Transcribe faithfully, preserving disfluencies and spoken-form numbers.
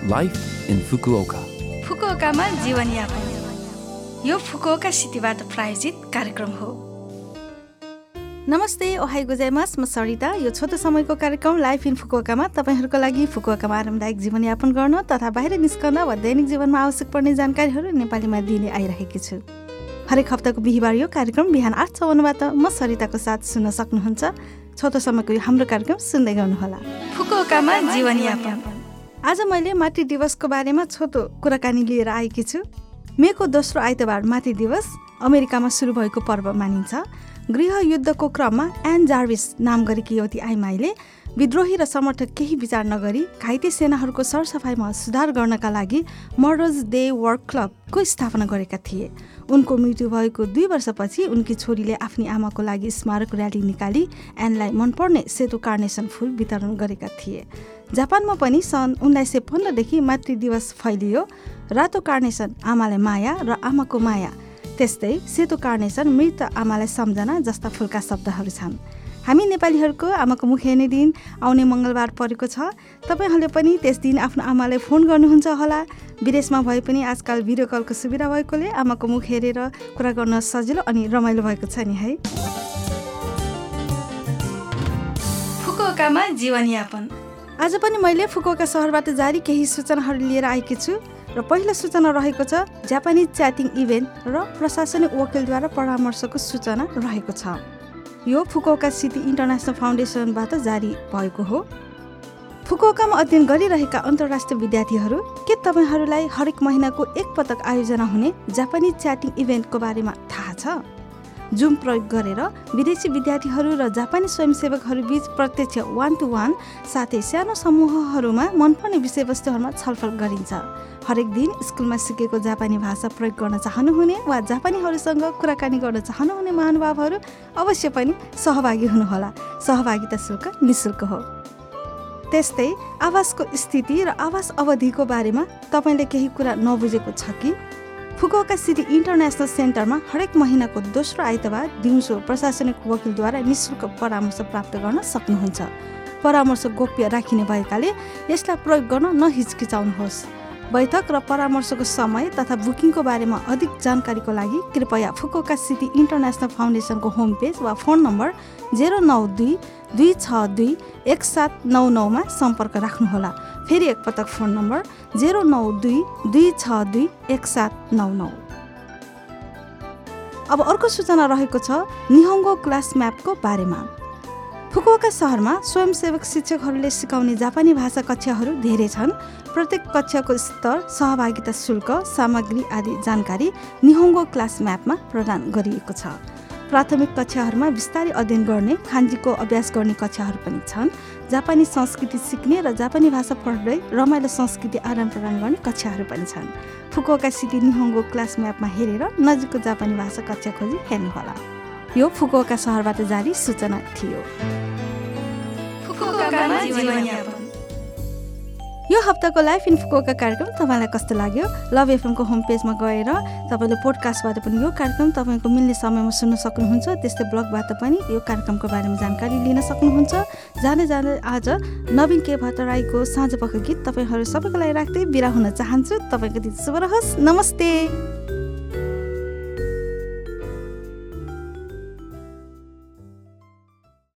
Life in Fukuoka. फुकुओकामा जीवनयापन यो Fukuoka सिटीबाट प्रायोजित कार्यक्रम हो। नमस्ते, ओहाई गोजाइमास, म सरिता। यो छोटो समयको कार्यक्रम लाइफ इन फुकुओकामा तपाईहरूको लागि फुकुओकामा आरामदायक जीवनयापन गर्न तथा बाहिर निस्कन वा दैनिक जीवनमा आवश्यक पर्ने जानकारीहरू नेपालीमा दिने आइरहेकी छु। हरेक हप्ताको बिहिबार यो कार्यक्रम बिहान आठ चौवन्नबाट म सरिताको साथ सुन्न सक्नुहुन्छ। छोटो समयको यो हाम्रो कार्यक्रम सुन्दै गर्नुहोला। फुकुओकामा जीवनयापन। आज मैले मातृ दिवसको बारेमा छोटो कुराकानी लिएर आएकी छु। मेको दोस्रो आइतबार मातृ दिवस अमेरिकामा सुरु भएको पर्व मानिन्छ। गृह युद्धको क्रममा एन जार्विस नाम गरेकी युवती आइमाईले विद्रोही र समर्थक केही विचार नगरी घाइते सेनाहरूको सरसफाइमा सुधार गर्नका लागि मर्डर्स डे वर्क क्लबको स्थापना गरेका थिए। उनको मृत्यु भएको दुई वर्षपछि उनकी छोरीले आफ्नी आमाको लागि स्मारक र्याली निकाली एनलाई मनपर्ने सेतो कार्नेसन फुल वितरण गरेका थिए। जापानमा पनि सन् उन्नाइस सय पन्ध्रदेखि मातृ दिवस फैलियो। रातो कार्नेसन आमालाई माया र आमाको माया, त्यस्तै सेतो कार्नेसन मृत आमालाई सम्झना जस्ता फुलका शब्दहरू छन्। हामी नेपालीहरूको आमाको मुख हेर्ने दिन आउने मङ्गलबार परेको छ। तपाईँहरूले पनि त्यस दिन आफ्नो आमालाई फोन गर्नुहुन्छ होला। विदेशमा भए पनि आजकल भिडियो कलको सुविधा भएकोले आमाको मुख हेरेर कुरा गर्न सजिलो अनि रमाइलो भएको छ नि है। फुकुओकामा जीवनयापन। आज पनि मैले फुकुओका सहरबाट जारी केही सूचनाहरू लिएर आएकी छु र पहिलो सूचना रहेको छ जापानिज च्याटिङ इभेन्ट र प्रशासनिक वकिलद्वारा परामर्शको सूचना रहेको छ। यो फुकुओका सिटी इन्टरनेसनल फाउन्डेसनबाट जारी भएको हो। फुकुओकामा अध्ययन गरिरहेका अन्तर्राष्ट्रिय विद्यार्थीहरू, के तपाईँहरूलाई हरेक महिनाको एक पटक आयोजना हुने जापानिज च्याटिङ इभेन्टको बारेमा थाहा छ? जुम प्रयोग गरेर विदेशी विद्यार्थीहरू र जापानी स्वयंसेवकहरू बीच प्रत्यक्ष वान टू वान साथै सानो समूहहरूमा मनपर्ने विषयवस्तुहरूमा छलफल गरिन्छ। हरेक दिन स्कुलमा सिकेको जापानी भाषा प्रयोग गर्न चाहनुहुने वा जापानीहरूसँग कुराकानी गर्न चाहनुहुने महानुभावहरू अवश्य पनि सहभागी हुनुहोला। सहभागिता शुल्क निःशुल्क हो। त्यस्तै आवासको स्थिति र आवास अवधिको बारेमा तपाईँले केही कुरा नबुझेको छ कि? फुकुओका सिटी इन्टरनेसनल सेन्टरमा हरेक महिनाको दोस्रो आइतबार दिउँसो प्रशासनिक वकिलद्वारा निःशुल्क परामर्श प्राप्त गर्न सक्नुहुन्छ। परामर्श गोप्य राखिने भएकाले यसलाई प्रयोग गर्न नहिचकिचाउनुहोस्। बैठक र परामर्शको समय तथा बुकिङको बारेमा अधिक जानकारीको लागि कृपया Fukuoka city international फाउन्डेसनको home page वा फोन नम्बर जेरो नौ दुई दुई छ दुई एक सात नौ नौमा सम्पर्क राख्नुहोला। फेरि एकपटक फोन नम्बर जेरो नौ दुई दुई छ दुई एक सात नौ नौ। अब अर्को सूचना रहेको छ निहोङ्गो क्लास म्यापको बारेमा। फुकुओका सहरमा स्वयंसेवक शिक्षकहरूले सिकाउने जापानी भाषा कक्षाहरू धेरै छन्। प्रत्येक कक्षाको स्तर, सहभागिता शुल्क, सामग्री आदि जानकारी निहोङ्गो क्लास म्यापमा प्रदान गरिएको छ। प्राथमिक कक्षाहरूमा बिस्तारै अध्ययन गर्ने, खान्जीको अभ्यास गर्ने कक्षाहरू पनि छन्। जापानी संस्कृति सिक्ने र जापानी भाषा पढ्दै रमाइलो संस्कृति आदान प्रदान गर्ने कक्षाहरू पनि छन्। फुकुओका सिटी निहोङ्गो क्लास म्यापमा हेरेर नजिकको जापानी भाषा कक्षा खोजी हेर्नुहोला। यो फुकुओका सहरबाट जारी सूचना थियो। फुकुओकामा जीवनयापन। यो हप्ताको लाइफ इन फुकुओका कार्यक्रम तपाईँलाई कस्तो लाग्यो? लभ एफएमको होम पेजमा गएर तपाईँले पोडकास्टबाट पनि यो कार्यक्रम तपाईँको मिल्ने समयमा सुन्न सक्नुहुन्छ। त्यस्तै ब्लगबाट पनि यो कार्यक्रमको बारेमा जानकारी लिन सक्नुहुन्छ। जाँदै जाँदै आज नवीन के भट्टराईको साँझ पख गीत तपाईँहरू सबैको लागि राख्दै बिदा हुन चाहन्छु। तपाईँको दिन शुभ रहोस्। नमस्ते।